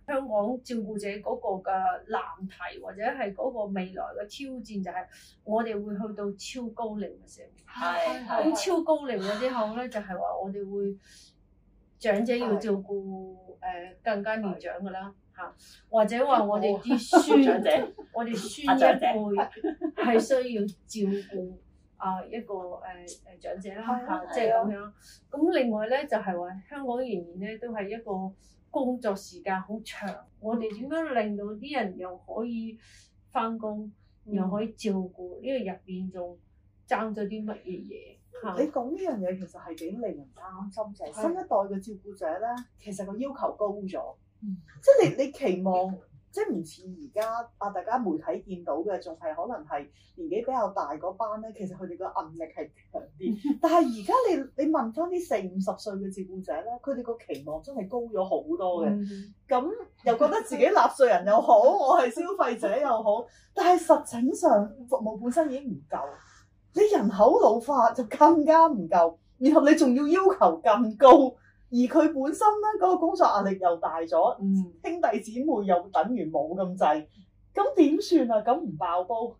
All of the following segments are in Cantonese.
香港照顧者嗰個嘅難題或者係嗰個未來嘅挑戰，就係我哋會去到超高齡嘅社會。 係咁超高齡咗之後咧，就係話我哋會長者要照顧更加年長嘅啦嚇，或者話我哋啲孫我哋孫一輩係需要照顧一個長者啦嚇，即係咁樣。咁另外咧就係話香港仍然咧都係一個工作時間好長，我哋點樣令到啲人又可以返工，又可以照顧呢個入邊仲爭咗啲乜嘢嘢？ 你講呢樣嘢其實係幾令人擔心，就係新一代嘅照顧者咧，其實個要求高咗，即係你期望，即係唔似而家大家媒體見到嘅，仲係可能係年紀比較大嗰班咧，其實佢哋個韌力係強啲。但係而家你問翻啲40-50歲嘅照顧者咧，佢哋個期望真係高咗好多嘅。咁又覺得自己納稅人又好，我係消費者又好，但係實情上服務本身已經唔夠。你人口老化就更加唔夠，然後你仲要求更高，而佢本身咧嗰個工作壓力又大咗，兄弟姊妹又等於冇咁滯，咁點算啊？咁唔爆煲？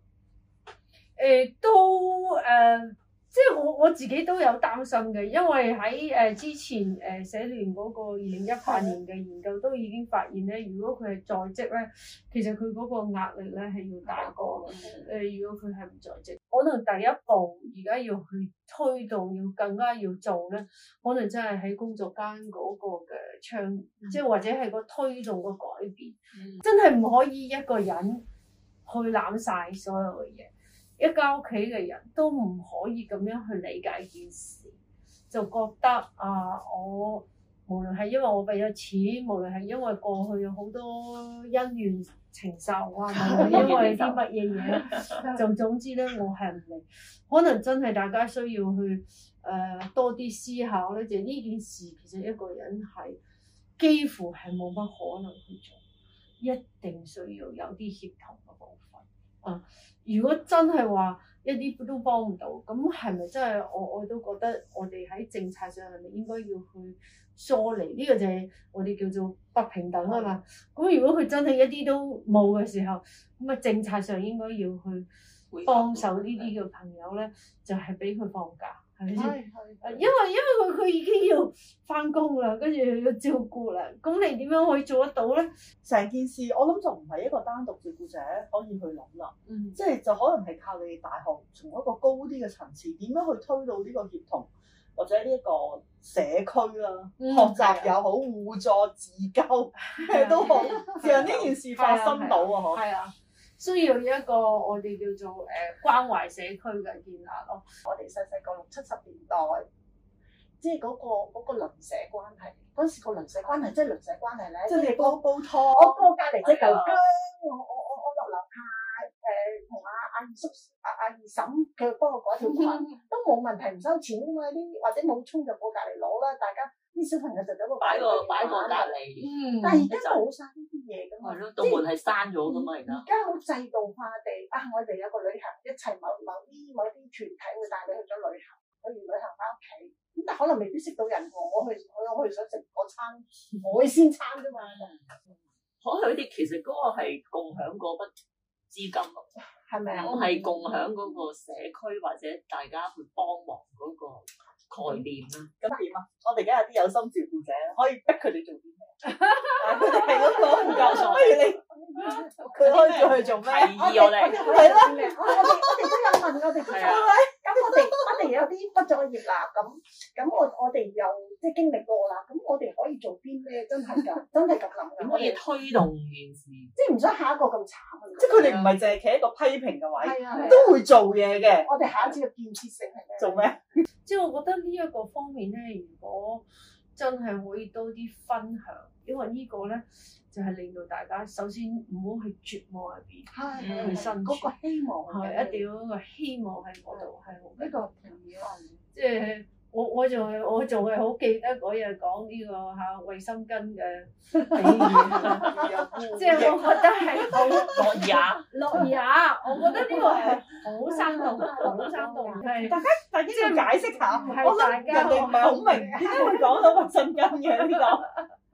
即係我自己都有擔心嘅，因為喺之前社聯嗰個2018年嘅研究都已經發現咧，如果佢係在職咧，其實佢嗰個壓力咧係要大過如果佢係唔在職。可能第一步而家要去推動，要更加要做咧，可能真係喺工作間嗰個嘅倡議，即係或者係個推動個改變，真係唔可以一個人去攬晒所有嘅嘢。一家屋企嘅人都唔可以咁樣去理解件事，就覺得我無論係因為我俾咗錢，無論係因為過去有好多恩怨情仇無論係因為啲乜嘢嘢，就總之咧，我係唔理。可能真係大家需要去多啲思考咧，就係呢件事其實一個人係幾乎係冇乜可能去做，一定需要有啲協同嘅部分。如果真係話一啲都幫唔到，咁係咪真係我都覺得我哋喺政策上係咪應該要去疏離？呢個就係我哋叫做不平等啊嘛。咁如果佢真係一啲都冇嘅時候，咁政策上應該要去幫手呢啲嘅朋友咧，就係俾佢放假。係咪先？因為佢已經要翻工啦，跟住要照顧啦，咁你點樣可以做得到咧？ 成件事我諗就唔係一個單獨照顧者可以去諗啦，即係就可能係靠你哋大學從一個高啲嘅層次，點樣去推到呢個協同或者呢一個社區啦，學習又好，互助自救都好，讓呢件事發生到啊！嗬，係啊。 需要一個我哋叫做關懷社區嘅建立咯。 我哋細個60-70年代，即係嗰個鄰舍關係。嗰時個鄰舍關係即係鄰舍關係咧，即係煲湯。我過隔離隻嚿薑，我落樓下同阿二叔阿二嬸佢幫我改條裙，都冇問題，唔收錢㗎嘛啲，或者冇葱就過隔離攞啦，大家。啲小朋友就走個擺個隔離，但係而家冇晒呢啲嘢㗎嘛， 道門係閂咗㗎嘛而家。 而家好制度化地我哋有個旅行，一齊某啲團體會帶你去咗旅行，去完旅行翻屋企，咁但可能未必識到人喎。我去想食嗰餐海鮮餐啫嘛。 可能啲其實嗰個係共享嗰筆資金咯， 係咪啊？ 係共享嗰個社區或者大家去幫忙嗰個概念啦。 咁點啊？我哋而家有啲有心照顧者，可以逼佢哋做啲咩？佢哋係嗰個唔夠數，不如佢可以叫佢做咩？ 我哋係咯，我哋都有問我哋嘅，咁我哋有啲畢咗業啦，咁我哋又即係經歷過啦，咁我哋可以做啲咩？真係咁諗嘅。 可以推動件事， 即係唔想下一個咁慘。 即係佢哋唔係淨係企喺個批評嘅位，都會做嘢嘅。 我哋下一次嘅建設性係咩？ 做咩？ 即係我覺得呢一個方面咧，如果真係可以多啲分享，因為呢個咧就係令到大家首先唔好去絕望入邊，去生存。 嗰個希望係一定要有一個希望喺嗰度，係好呢個同意啊！ 即係我仲係好記得嗰日講呢個衛生巾嘅比喻，即係我覺得係好落牙，我覺得呢個係好生動，好生動，係大家即係解釋下， 我諗人哋唔係好明點解會講到衛生巾嘅呢個。你記唔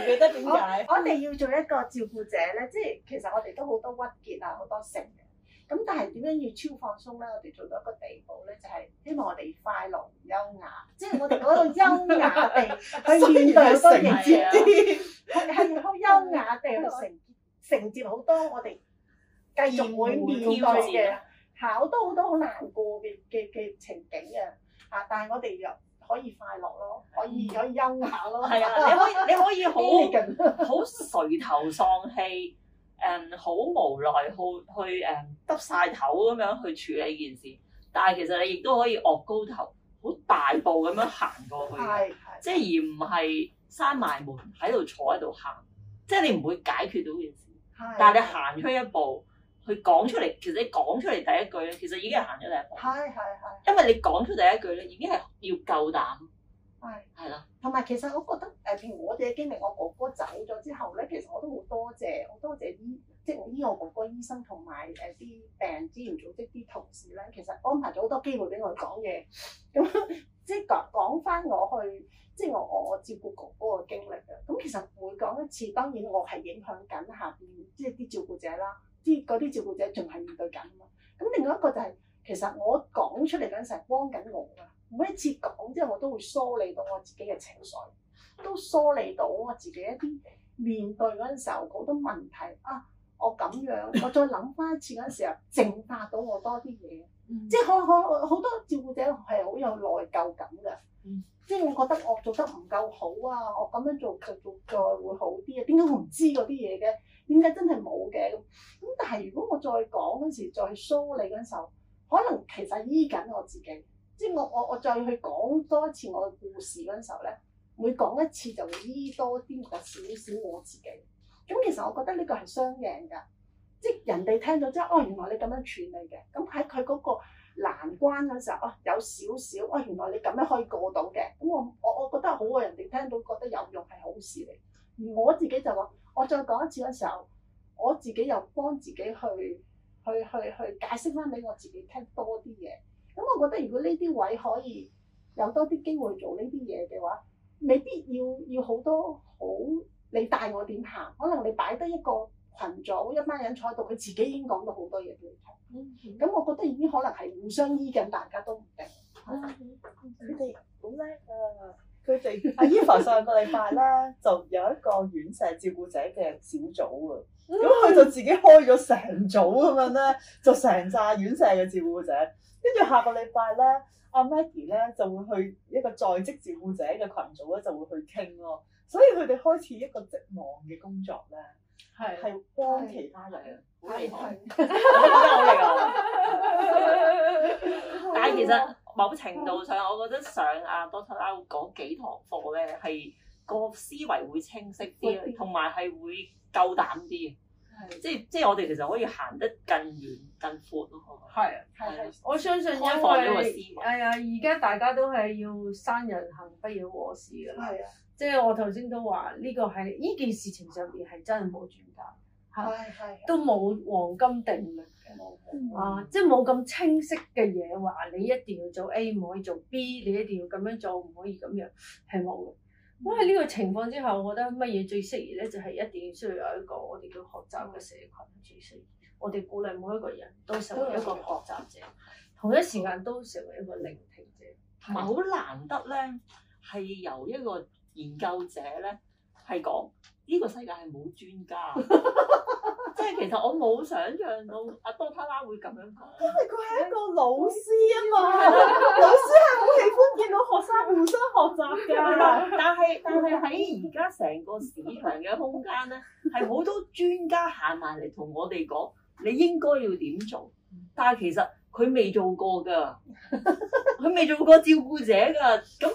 唔記得點解？ 我哋要做一個照顧者咧，即係其實我哋都好多鬱結啊，好多性嘅。咁但係點樣要超放鬆咧？我哋做到一個地步咧，就係希望我哋快樂優雅，即係我哋嗰個優雅地去面對好多嘢，係好優雅地去承接好多我哋繼續會面對嘅好多好難過嘅情景嘅啊！但係我哋又可以快樂咯，可以優雅咯， 係啊！你可以好垂頭喪氣。好無奈去耷晒頭咁樣去處理件事，但係其實你亦都可以岳高頭，好大步咁樣行過去，即係而唔係閂埋門喺度坐喺度喊，即係你唔會解決到件事。但係你行出一步去講出嚟，其實你講出嚟第一句咧，其實已經係行咗第一步。因為你講出第一句咧，已經係要夠膽。係啦， 同埋其實我覺得譬如我哋嘅經歷，我哥哥走咗之後咧，其實我都好多謝即係我醫我哥哥醫生同埋啲病人支援組織啲同事咧，其實安排咗好多機會俾我講嘢，咁即係講翻我去，即係我照顧哥哥嘅經歷嘅。咁其實每講一次，當然我係影響緊下邊即係啲照顧者啦，嗰啲照顧者仲係面對緊啊嘛。咁另外一個就係其實我講出嚟嗰陣時係幫緊我㗎。每一次講之後，我都會梳理到我自己嘅情緒，都梳理到我自己一啲面對嗰陣時候好多問題啊！我咁樣，我再諗翻一次嗰陣時候，淨化到我多啲嘢。即係好多照顧者係好有內疚感嘅。即係我覺得我做得唔夠好啊！我咁樣做再會好啲啊！點解我唔知嗰啲嘢嘅？點解真係冇嘅？咁但係如果我再講嗰時，再去梳理嗰陣時候，可能其實醫緊我自己。即係我再去講多一次我嘅故事嗰陣時候咧，每講一次就會醫多啲少少我自己。咁其實我覺得呢個係雙贏㗎，即係人哋聽到之後，哦原來你咁樣處理嘅，咁喺佢嗰個難關嗰時候，哦有少少，哦原來你咁樣可以過到嘅，咁我覺得好啊，人哋聽到覺得有用係好事嚟。而我自己就話，我再講一次嗰時候，我自己又幫自己去解釋翻俾我自己聽多啲嘢。咁我覺得如果呢啲位可以有多啲機會做呢啲嘢嘅話，未必要好多好你帶我點行，可能你擺低一個群組一班人坐喺度，佢自己已經講到好多嘢俾你聽。咁我覺得已經可能係互相醫緊，大家都唔定。 佢哋好叻啊！佢哋阿 Eva 上個禮拜咧就有一個院舍照顧者嘅小組啊，咁佢就自己開咗成組咁樣咧，就成紮院舍嘅照顧者。跟住下個禮拜咧，阿 Maggie 咧就會去一個在職照顧者嘅群組咧，就會去傾咯。所以佢哋開始一個職網嘅工作咧，係幫其他人， 好厲害，真係好厲害。但係其實某程度上，我覺得上阿 Doctor Lau 嗰幾堂課咧，係個思維會清晰啲，同埋係會夠膽啲。即係我哋其實可以行得更遠更闊咯。 係我相信因為而家大家都係要生人行不要我事㗎啦。即係我頭先都話呢個係呢件事情上邊係真係冇專家，都冇黃金定律嘅。即係冇咁清晰嘅嘢話你一定要做 A 唔可以做 B， 你一定要咁樣做唔可以咁樣，係冇嘅。咁喺呢個情況之下，我覺得乜嘢最適宜咧，就係一定要需要有一個我哋叫學習嘅社群最適宜。我哋鼓勵每一個人都成為一個學習者，同一時間都成為一個聆聽者。 同埋好難得咧，係由一個研究者咧係講呢個世界係冇專家，即係其實我冇想像到阿 Doctor Lau 會咁樣講， 因為佢係一個老師啊嘛，老師係好喜歡見到學生互相學習㗎。 但係喺而家成個市場嘅空間咧，係好多專家行埋嚟同我哋講，你應該要點做，但係其實佢未做過㗎，佢未做過照顧者㗎，咁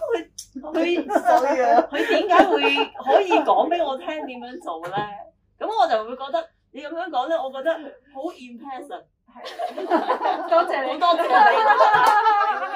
佢點解會可以講俾我聽點樣做咧？咁我就會覺得你咁樣講咧，我覺得好 impressive。 多謝你， 好多謝你。